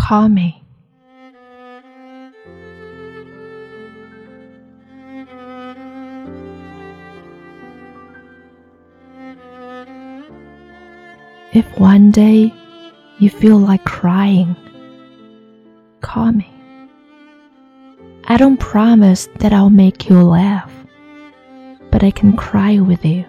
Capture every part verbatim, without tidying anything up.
Call me. If one day you feel like crying, call me. I don't promise that I'll make you laugh, but I can cry with you.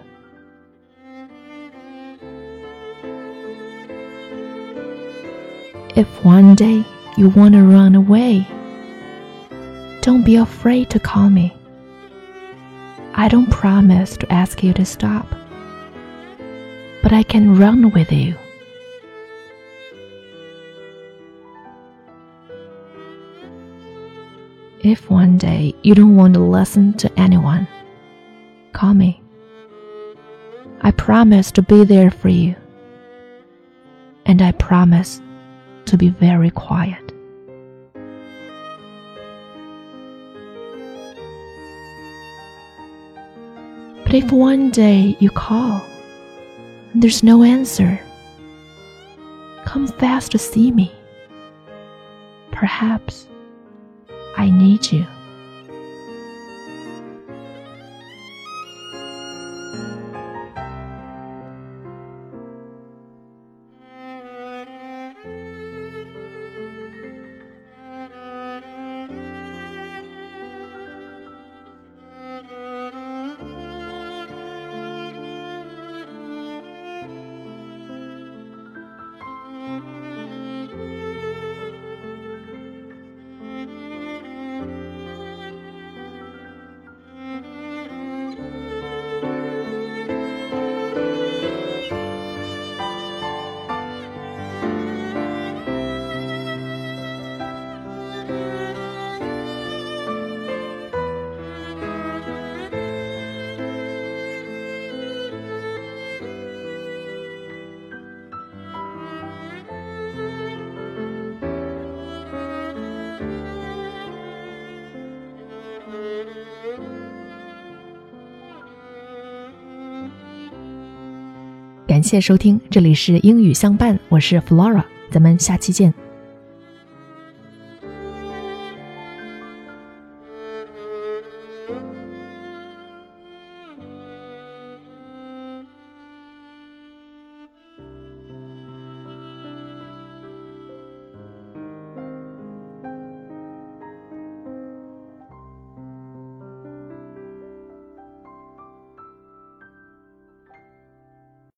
If one day you want to run away, don't be afraid to call me. I don't promise to ask you to stop, but I can run with you. If one day you don't want to listen to anyone, call me. I promise to be there for you, and I promise to be very quiet. But if one day you call and there's no answer, come fast to see me. Perhaps I need you.感谢收听，这里是英语相伴，我是 Flora， 咱们下期见。